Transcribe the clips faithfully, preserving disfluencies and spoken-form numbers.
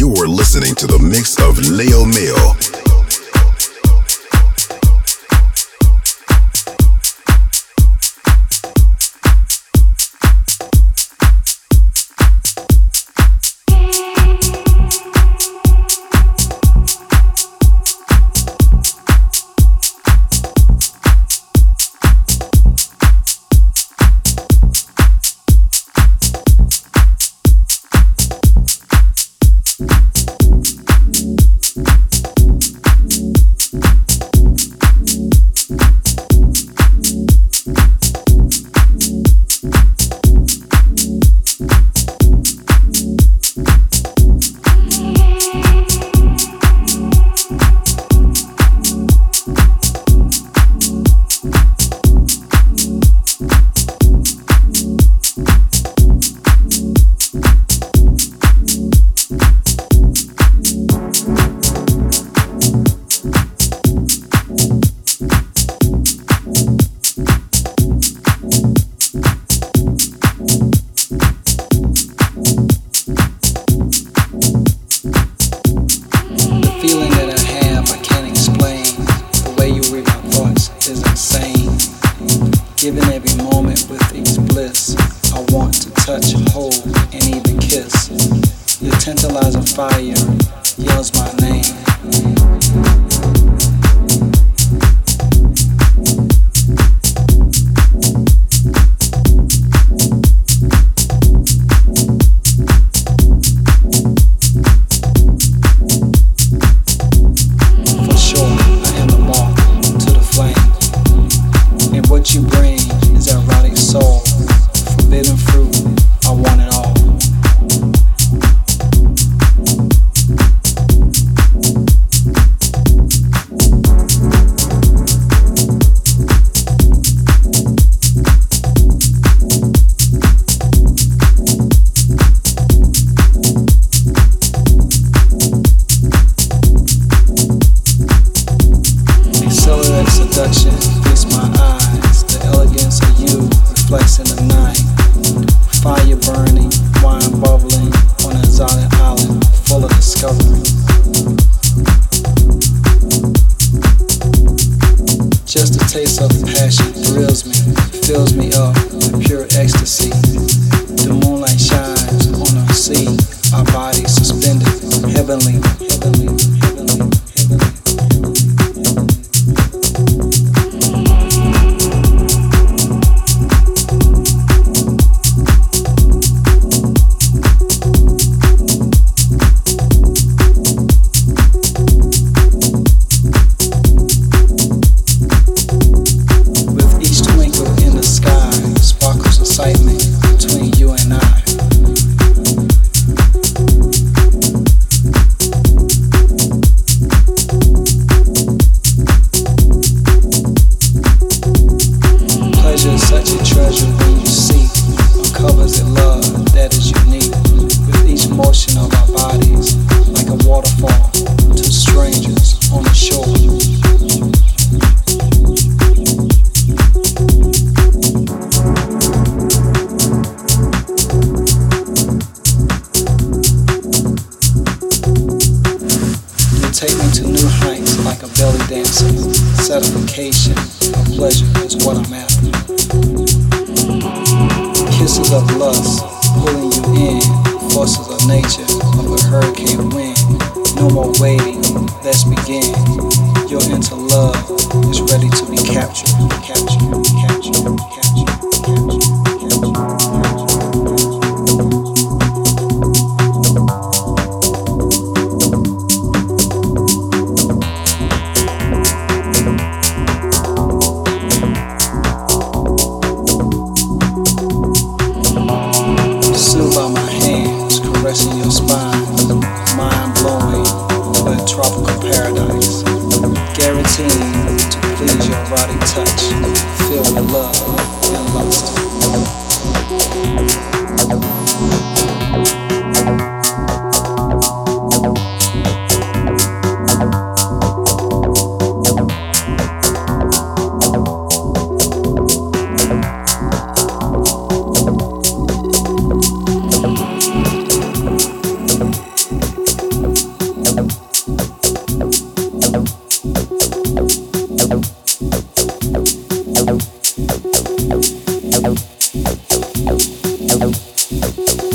You're listening to the mix of Leo Mail.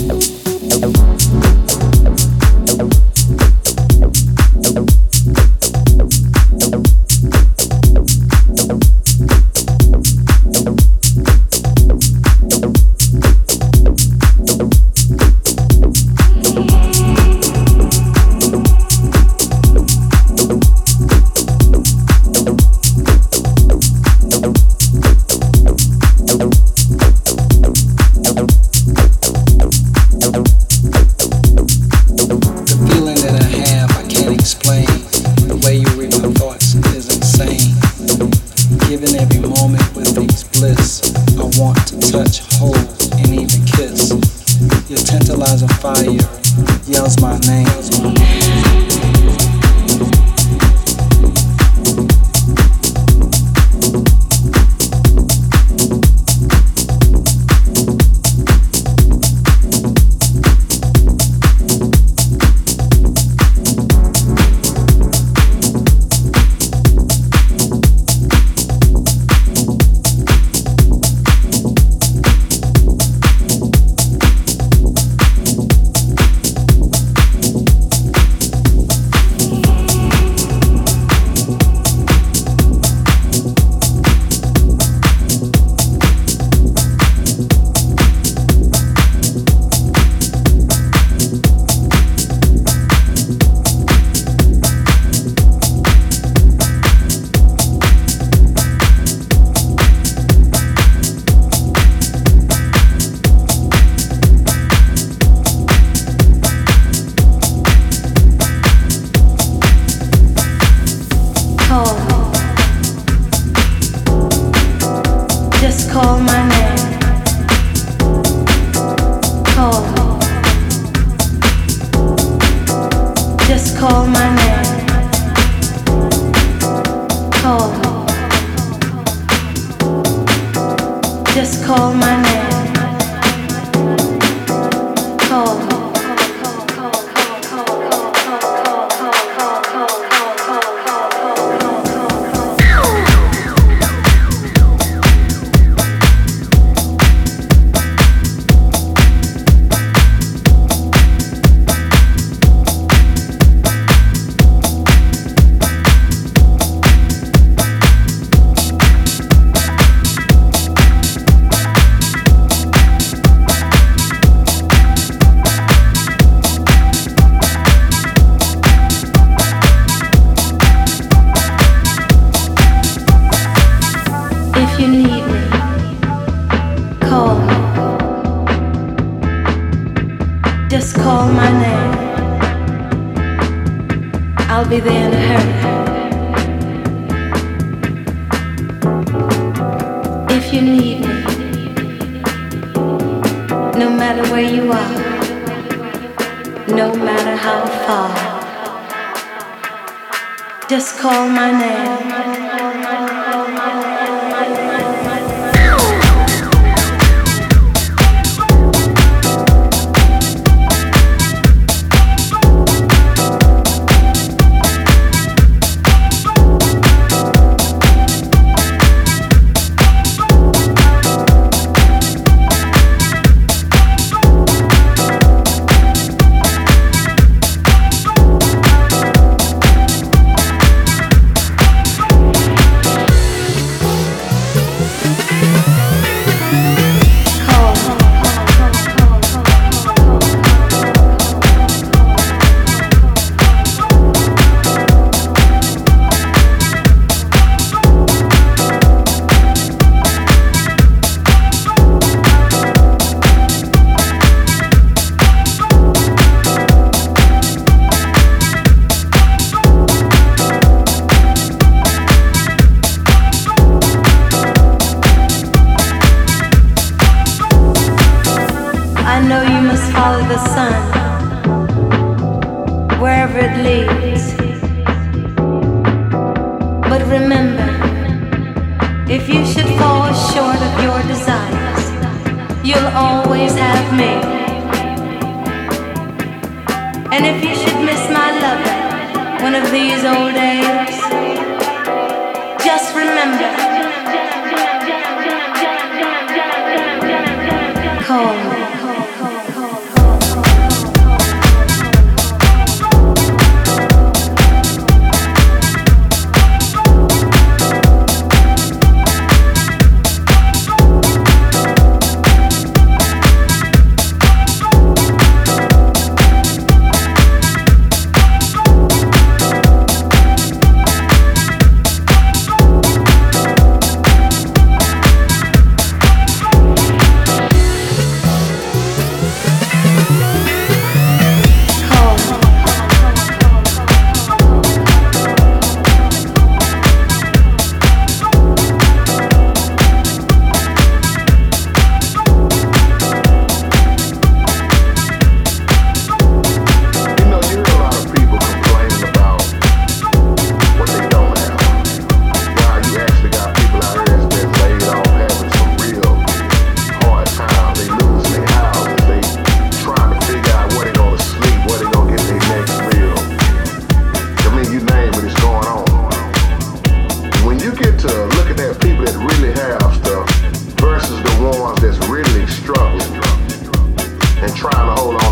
Call me.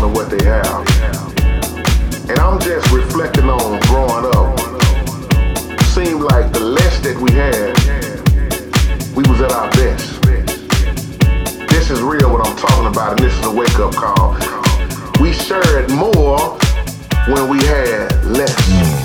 of what they have. And I'm just reflecting on growing up. Seemed like the less that we had, we was at our best. This is real what I'm talking about, and this is a wake-up call. We shared more when we had less.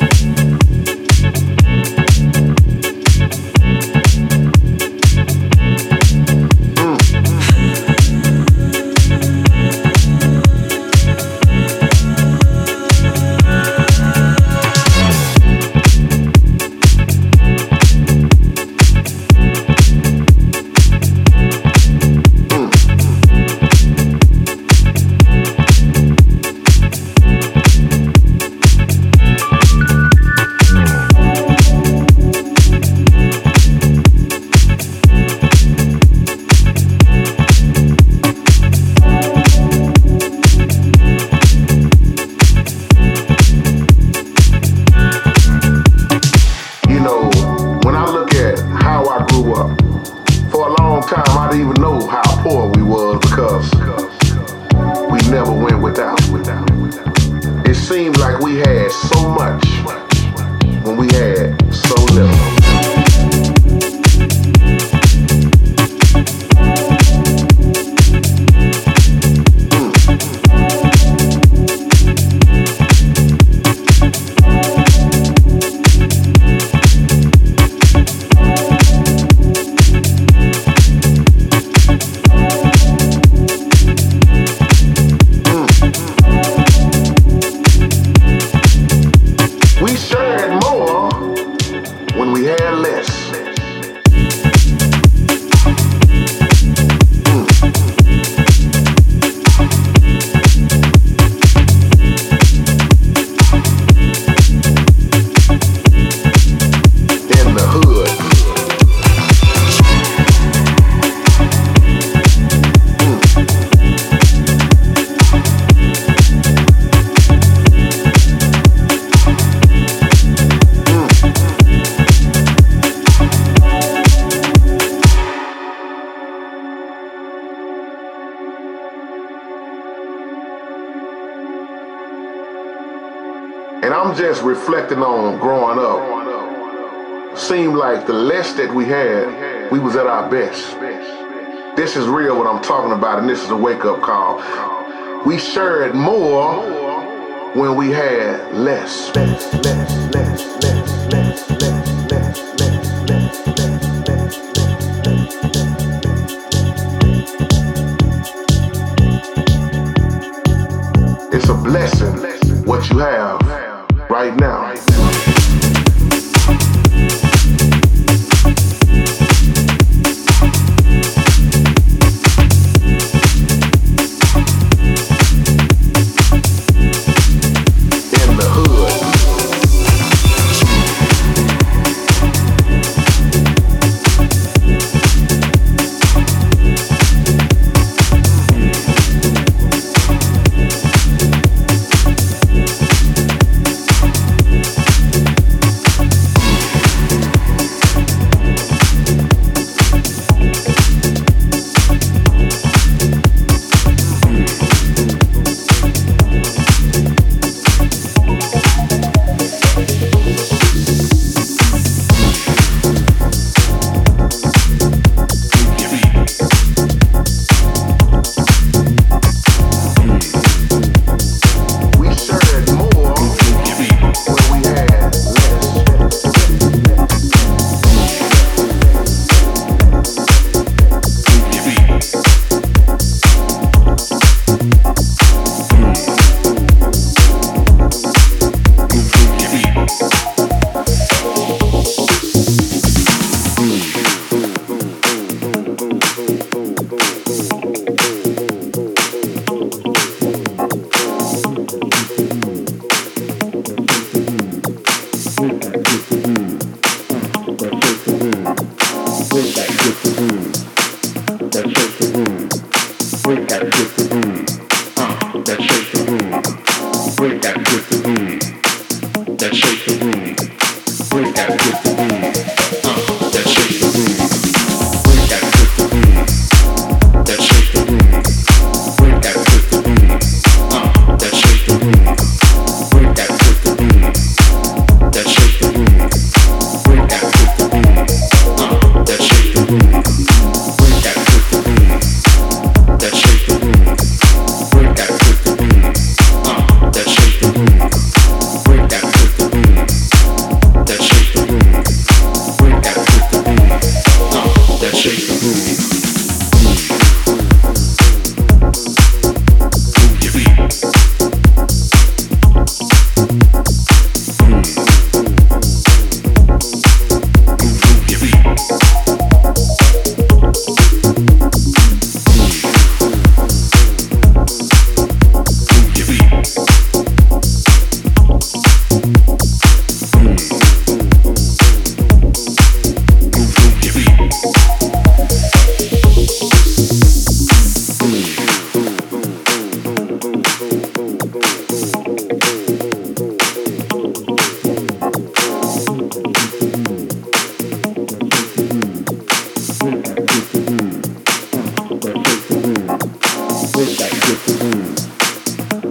Just reflecting on growing up. Seemed like the less that we had, we was at our best. This is real what I'm talking about, and this is a wake-up call. We shared more when we had less. less, less, less, less, less, less, less, less, less. It's a blessing what you have right now. Right now.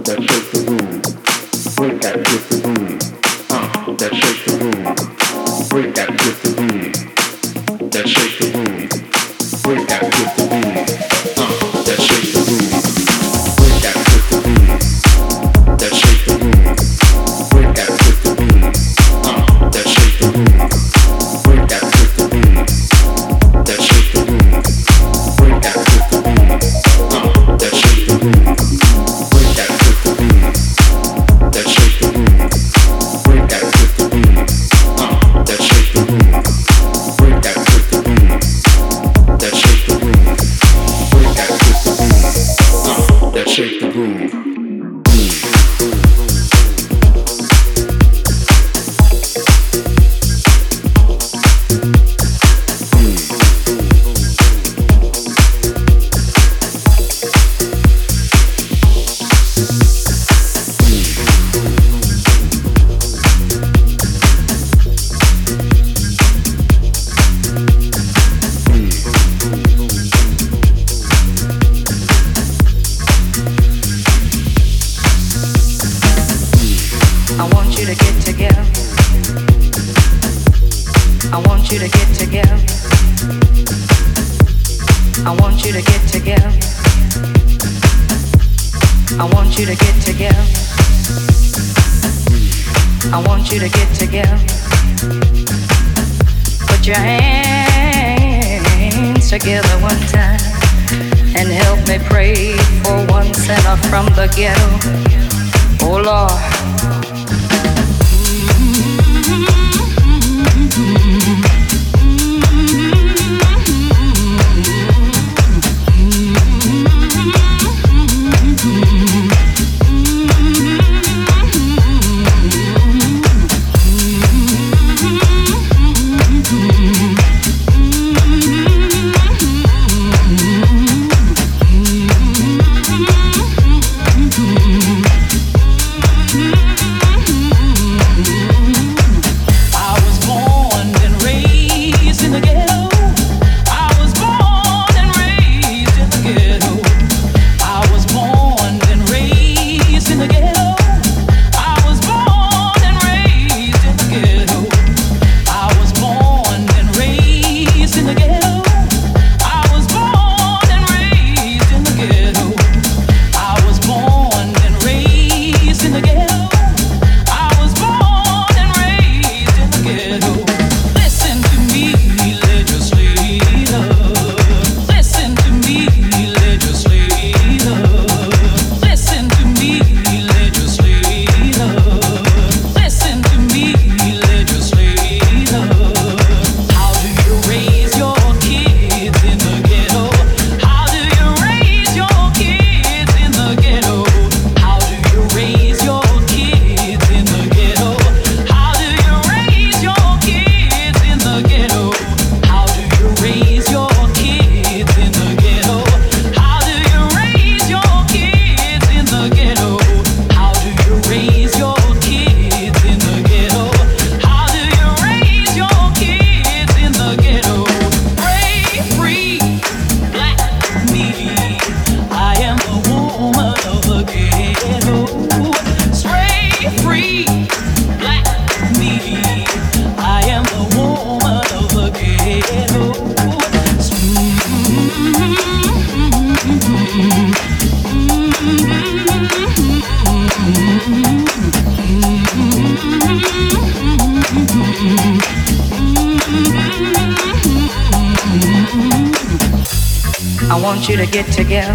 want you to get together.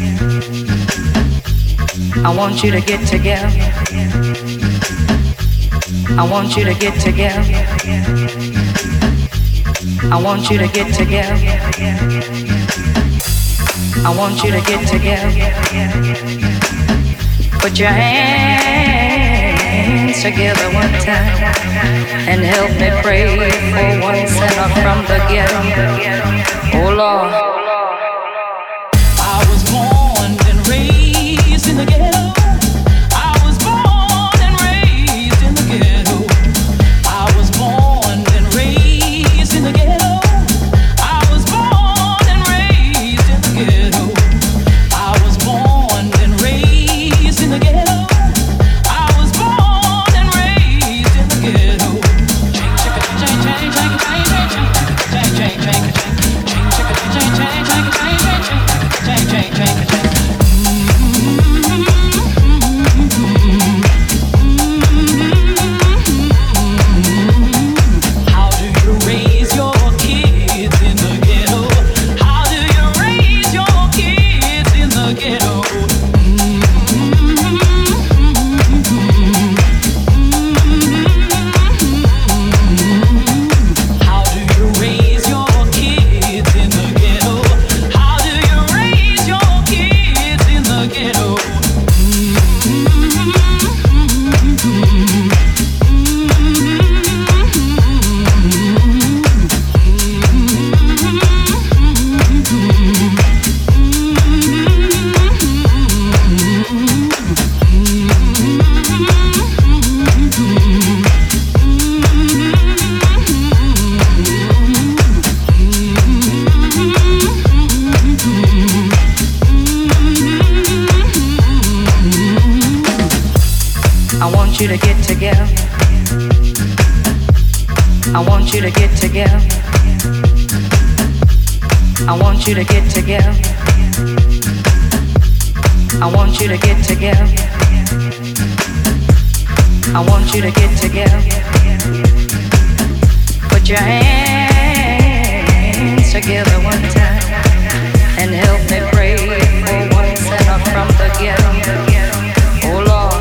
I want you to get together. I want you to get together. I want you to get together. I want you to get together. Put your hands together one time and help me pray for one sinner from the ghetto. Oh Lord. In the ghetto, I was born and raised in the ghetto. I was born and raised in the ghetto. I was born and raised in the ghetto. I was born and raised in the ghetto. I want you to get together. I want you to get together. I want you to get together. I want you to get together. I want you to get together. Put your hands together one time and help me pray for one sinner from the ghetto. Oh Lord.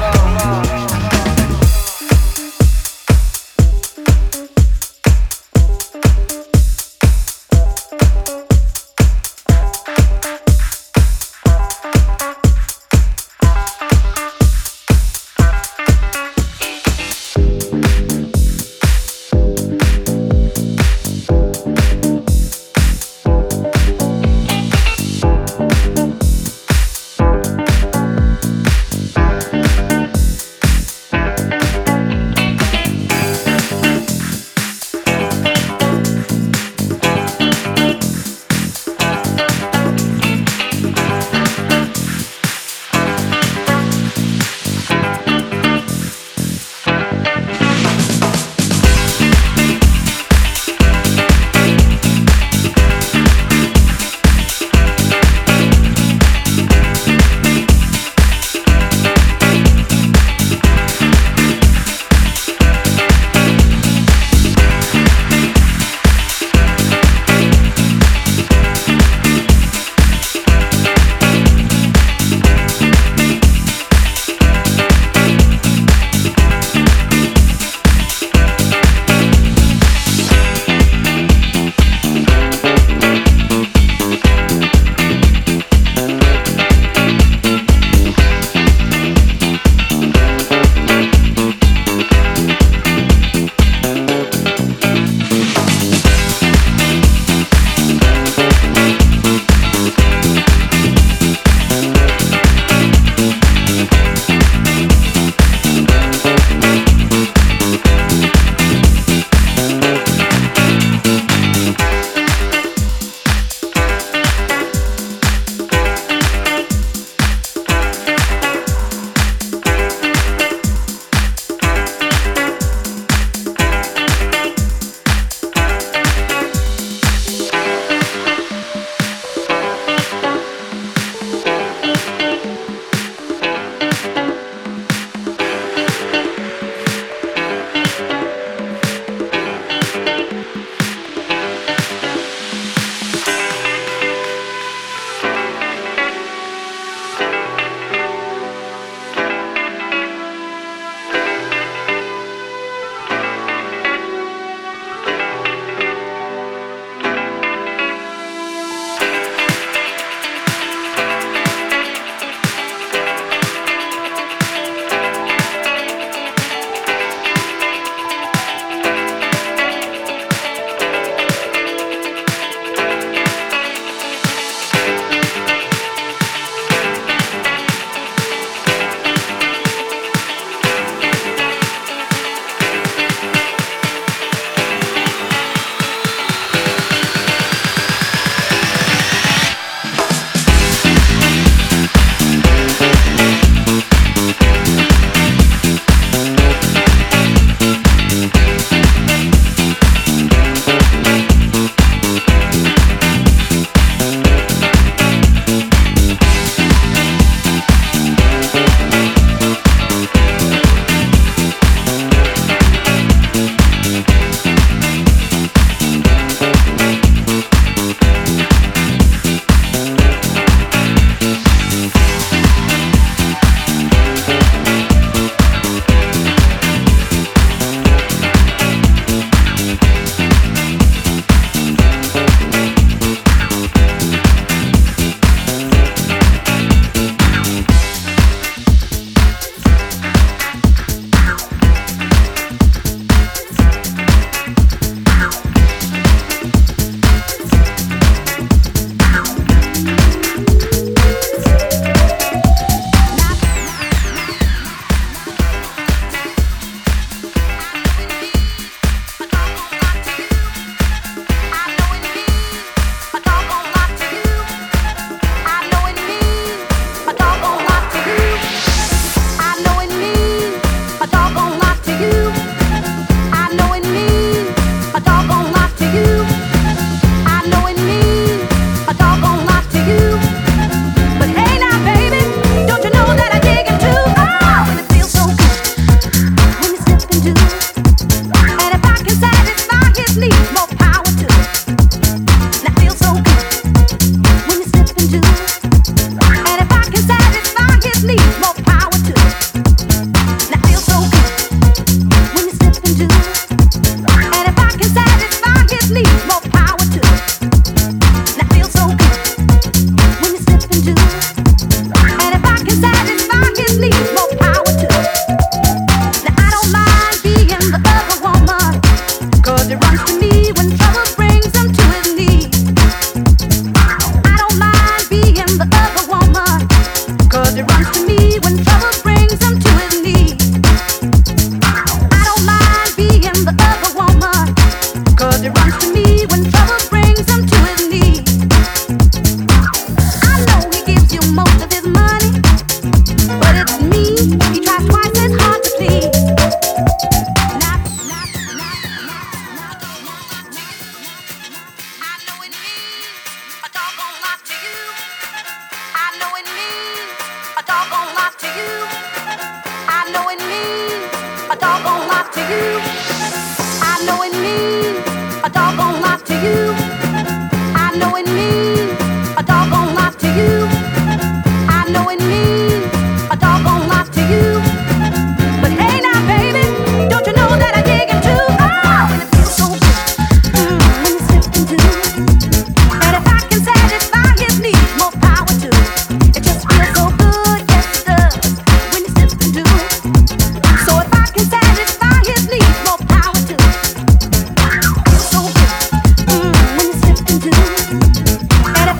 And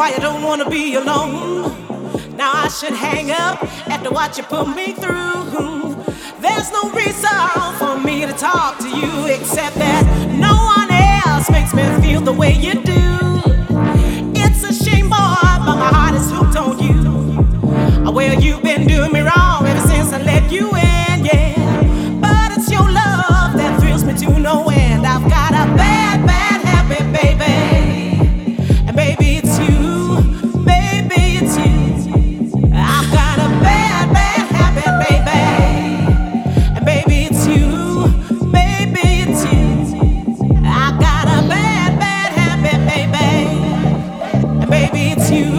why you don't wanna be alone. Now I should hang up after what you put me through. There's no reason for me to talk to you except that no one else makes me feel the way you do. It's a shame, boy, but my heart is hooked on you. Well, you've been doing me wrong ever since I let you in, yeah. But it's your love that thrills me to no end. I've got a bad, bad habit, baby. And baby, it's you. Baby, it's you. I've got a bad, bad habit, baby. And baby, it's you. Baby, it's you. I've got a bad, bad habit, baby. And baby, it's you.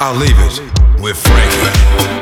I'll leave it with Frankie.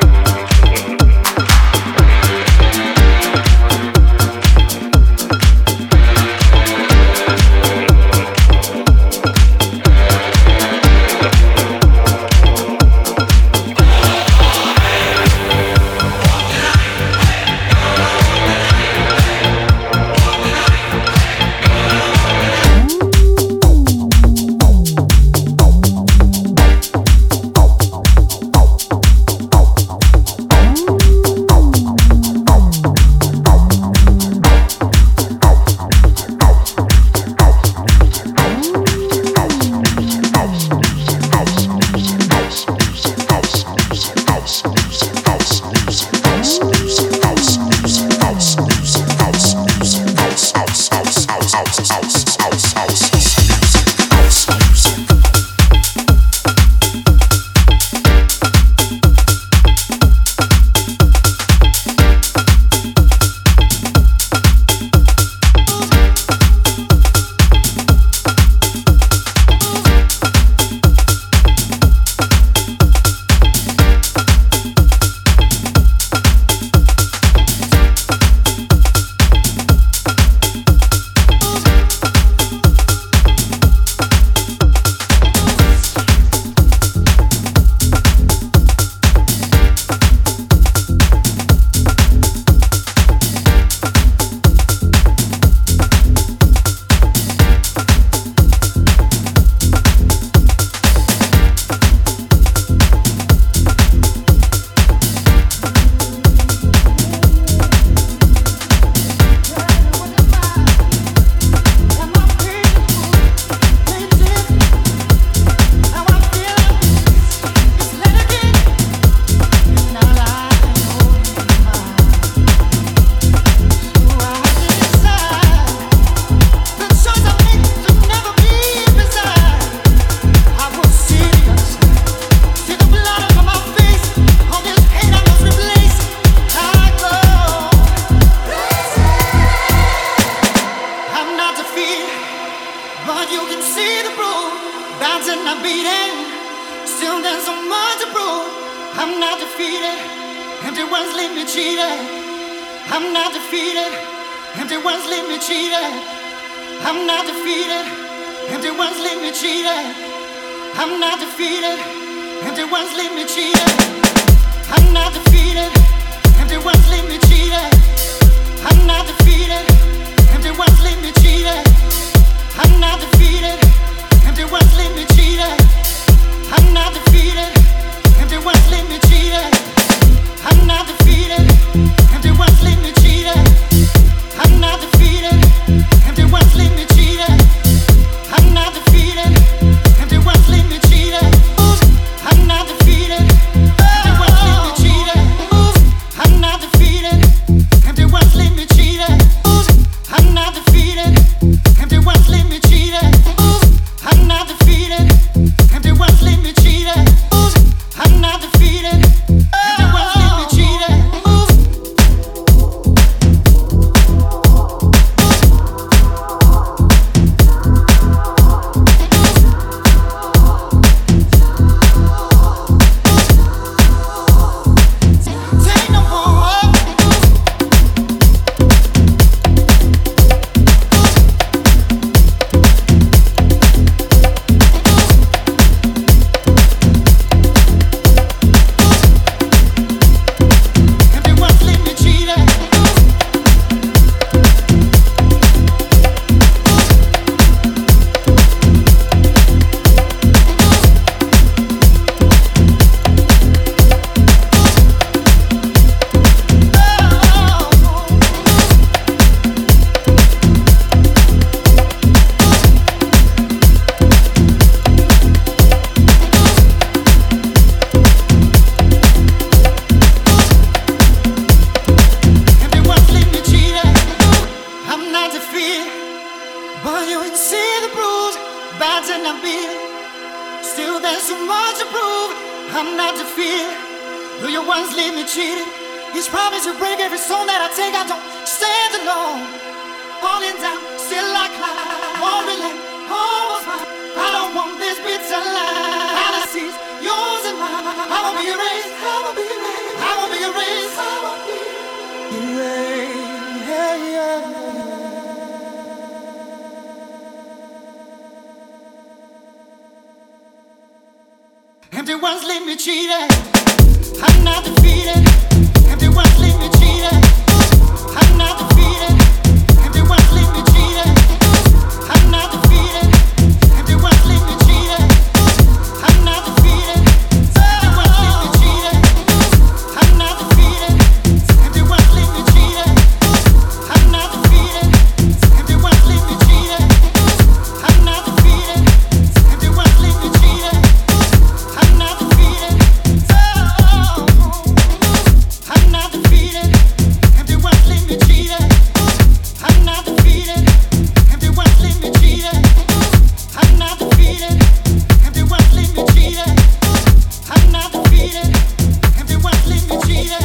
Won't this bitter life, fantasies, yours and mine. Empty ones leave me cheated. I'm not defeated. Empty ones leave me cheated. I'm not defeated. Empty ones leave me cheated. I'm not defeated. Empty ones leave me cheated. I'm not defeated. Empty ones leave me cheated. I'm not defeated. Empty ones leave me cheated. I'm not defeated. Empty ones leave me cheated. I'm not defeated. Empty ones leave me cheated. I'm not defeated. Oh, I'm not defeated. Empty ones leave me cheated. I'm not defeated. Empty ones leave me cheated. I'm not defeated. Empty ones leave me cheated. I'm not defeated. Empty ones leave me cheated.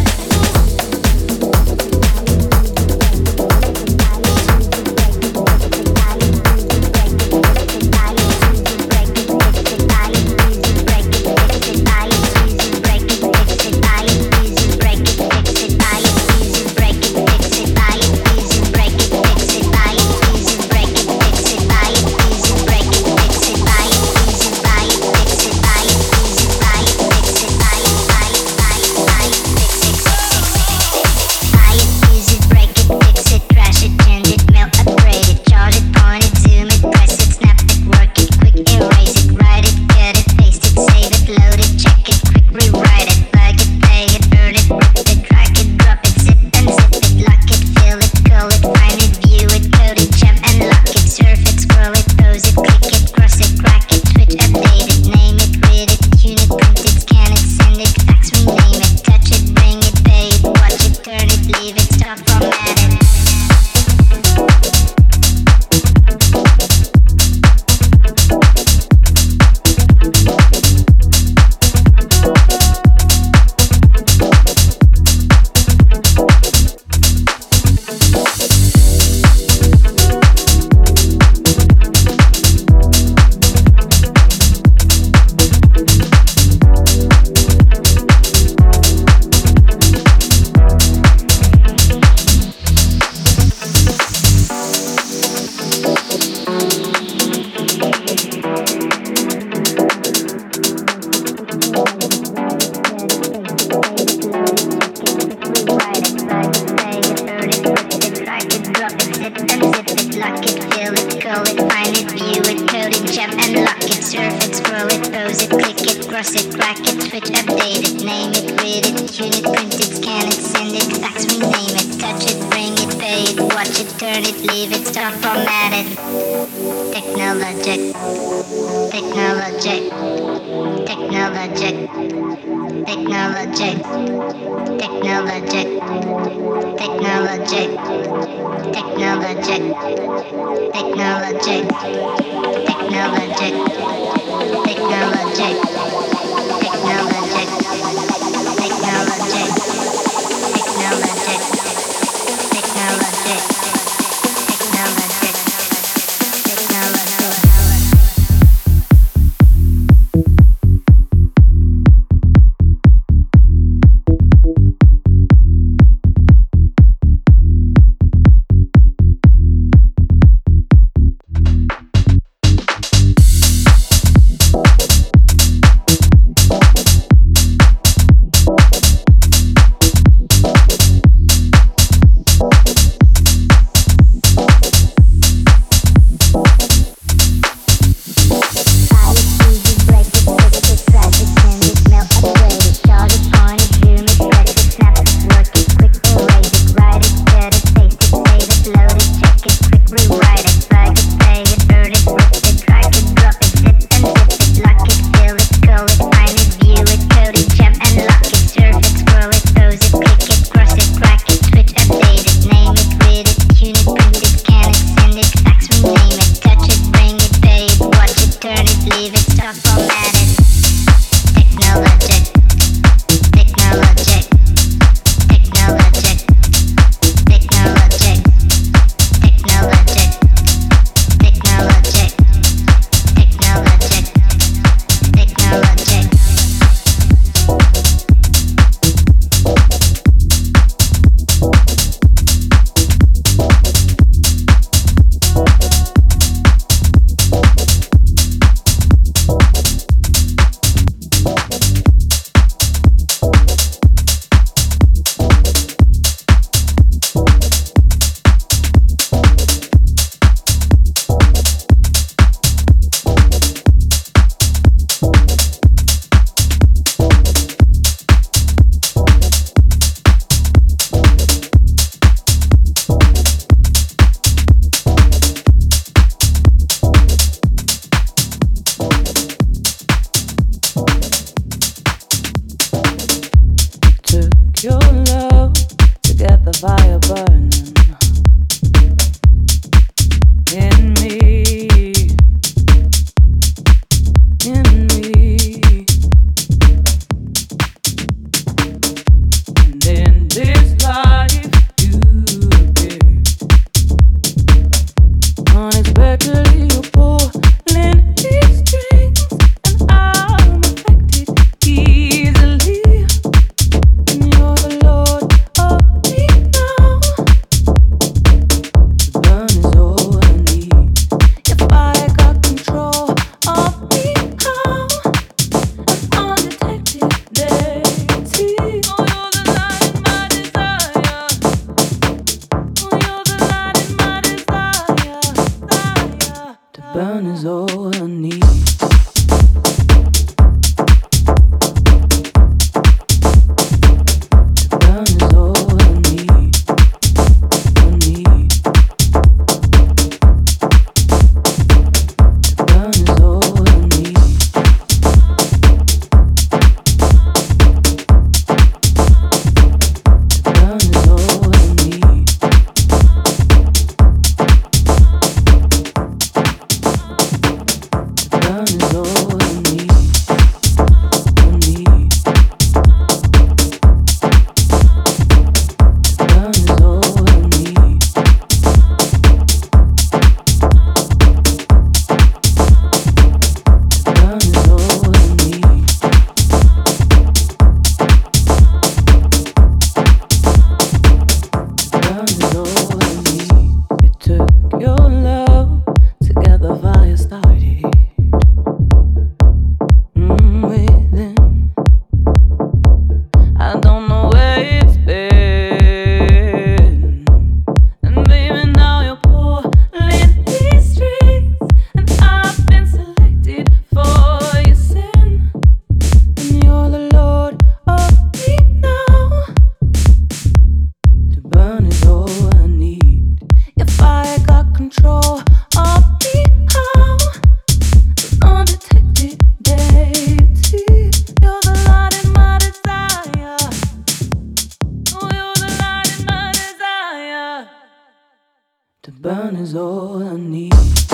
burn is all I need.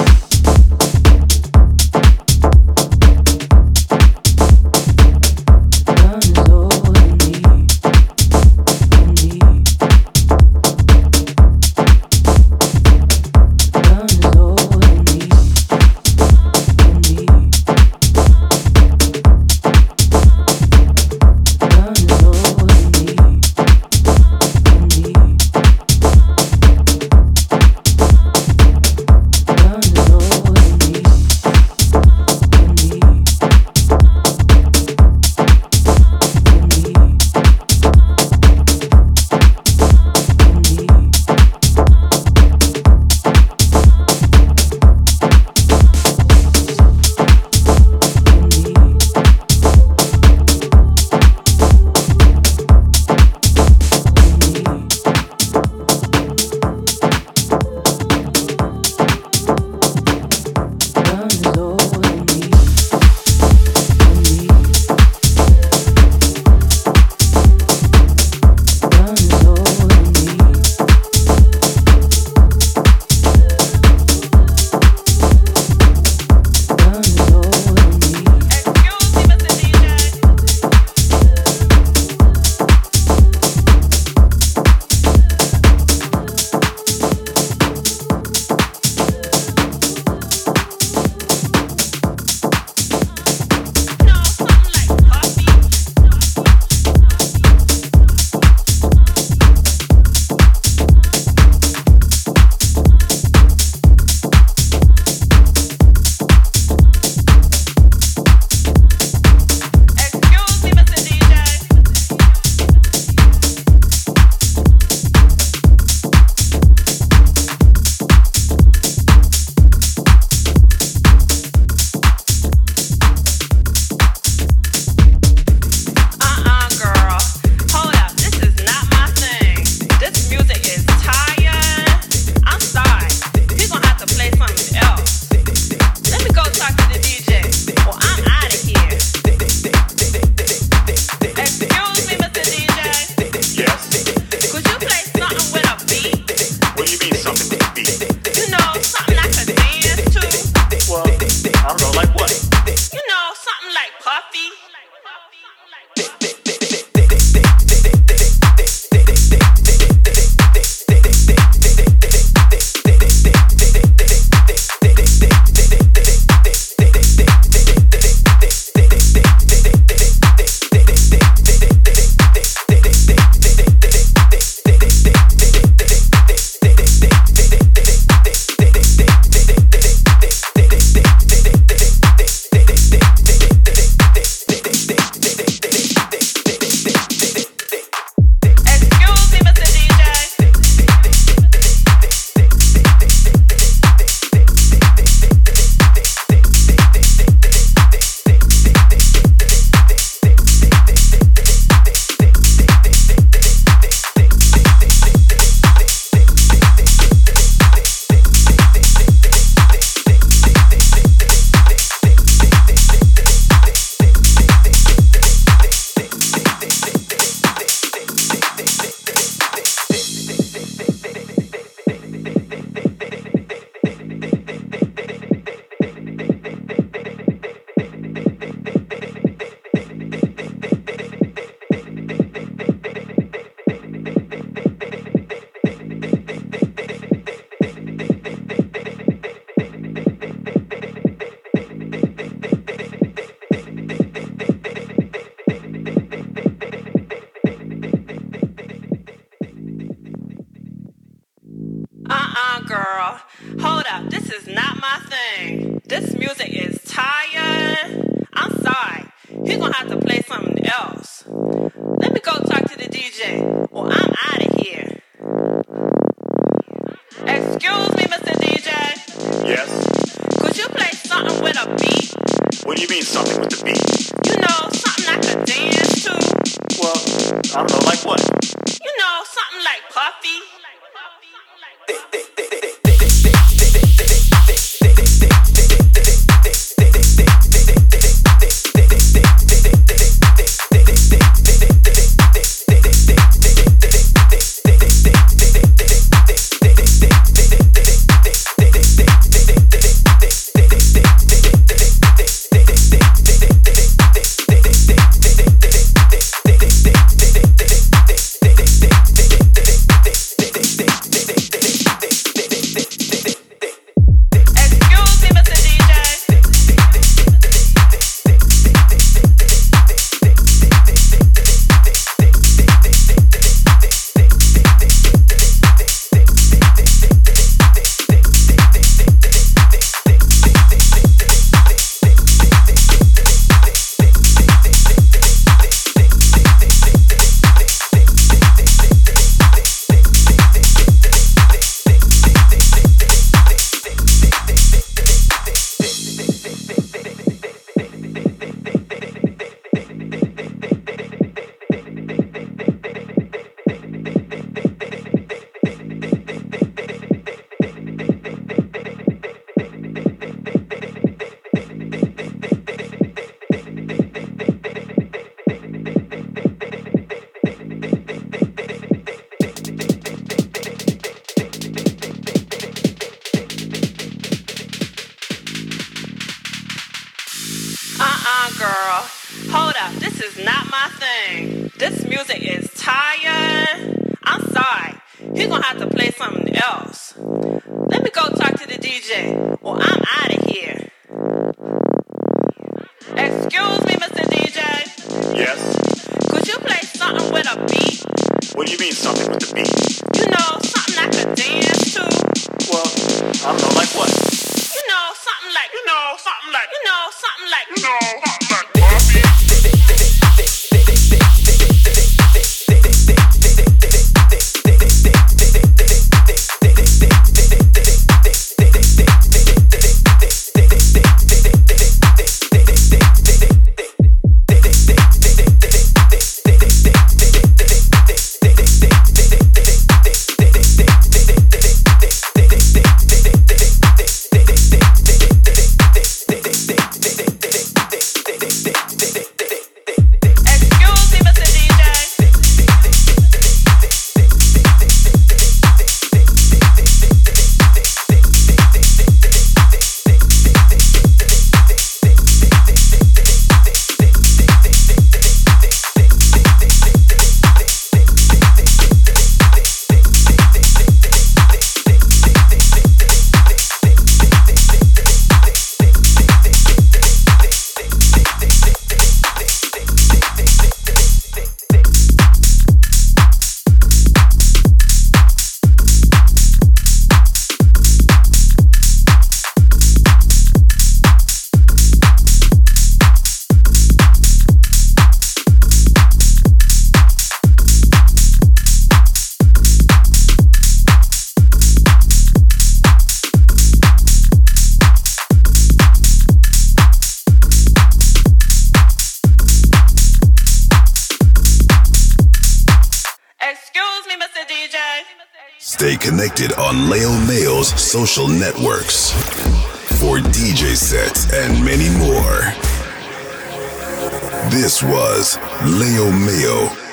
girl. Hold up, this is not my thing. This music is tired. I'm sorry. He's gonna have to play something else. Let me go talk to the D J, or I'm out of here. Excuse me, Mister D J. Yes? Could you play something with a beat? What do you mean, something with the beat? You know, something I could dance to. Well, I don't know, like what? You know, something like Puffy. is not my thing. This music is tired. I'm sorry. He's gonna have to play something else. Let me go talk to the D J, or I'm out of here. Excuse me, Mister D J. Yes? Could you play something with a beat? What do you mean something with the beat? You know, something I could dance to. Well, I don't know, like what? You know, something like, you know, something like, you know, something like, you know, something like. Stay connected on Leo Mayo's social networks for D J sets and many more. This was Leo Mayo